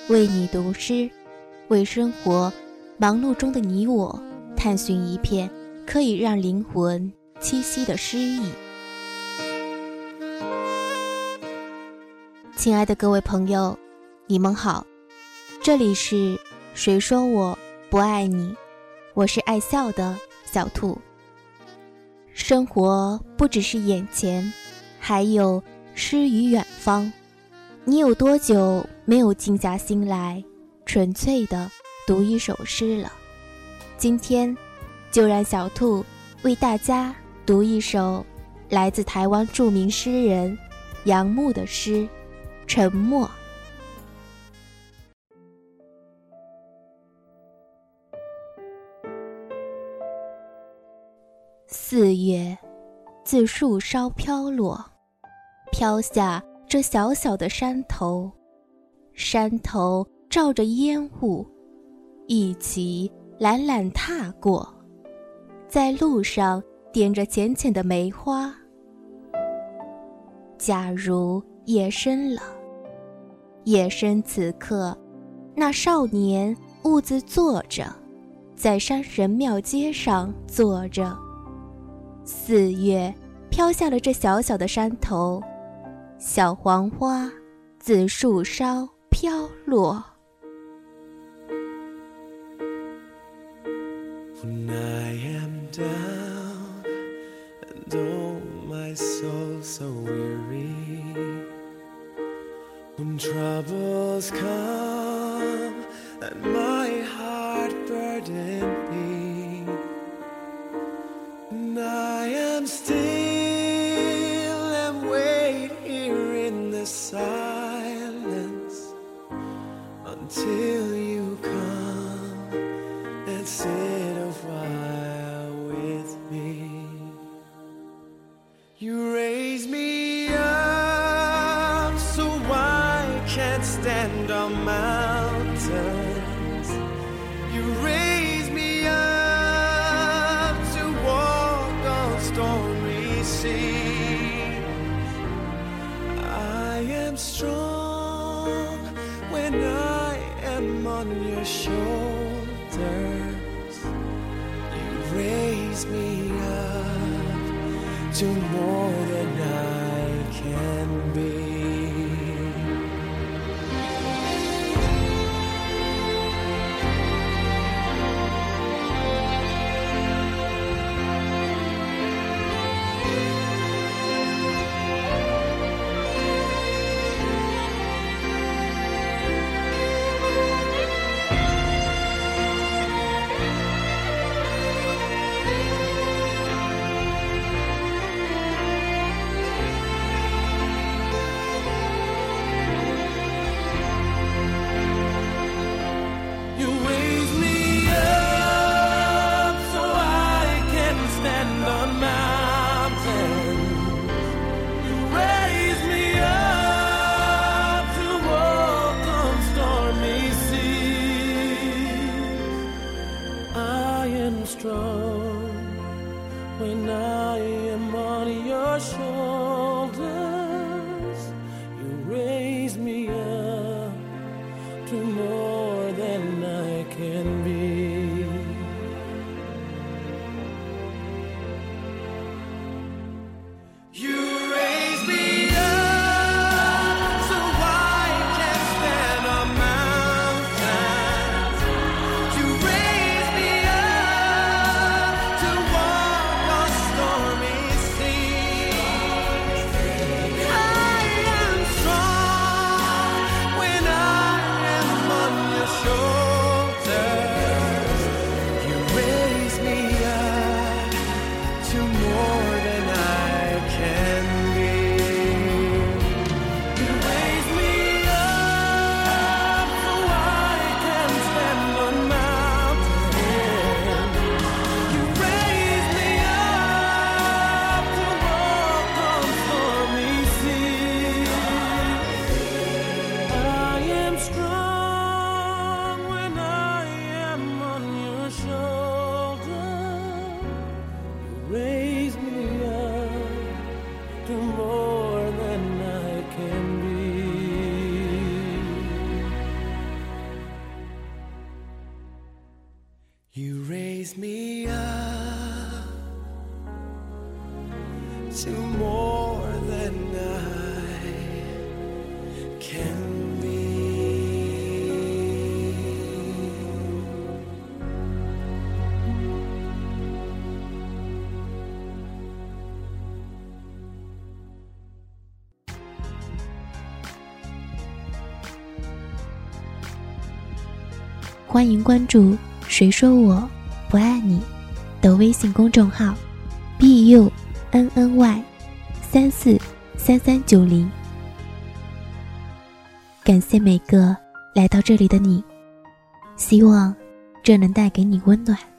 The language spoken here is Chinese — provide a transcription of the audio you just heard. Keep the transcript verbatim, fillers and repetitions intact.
为你读诗，为生活忙碌中的你我探寻一片可以让灵魂栖息的诗意。亲爱的各位朋友，你们好，这里是谁说我不爱你，我是爱笑的小兔。生活不只是眼前，还有诗与远方。你有多久没有静下心来纯粹地读一首诗了？今天就让小兔为大家读一首来自台湾著名诗人杨牧的诗《沉默》。四月自树梢飘落，飘下这小小的山头，山头罩着烟雾，一起懒懒踏过，在路上点着浅浅的梅花。假如夜深了，夜深此刻，那少年兀自坐着，在山神庙街上坐着。四月飘下了这小小的山头，小黄花自树梢飘落。 When I am down and oh my soul so weary, when troubles come and my heart burden me, and I am still and wait here in the silence until you come and sit a while with me. You raise me up so I can't stand on mountains. You raise me up to walk on stormy seas. I am strong when I am on your shoulders. You raise me up to more than I can be. Strong when I am on your shoulders. You raise me up to more than I can be. You raise me up so I can stand on mountains. You raise me up to walk on stormy seas. raise me up to more than I can be. 欢迎关注谁说我不爱你的微信公众号 B U N N Y 三四三三九零。感谢每个来到这里的你，希望这能带给你温暖。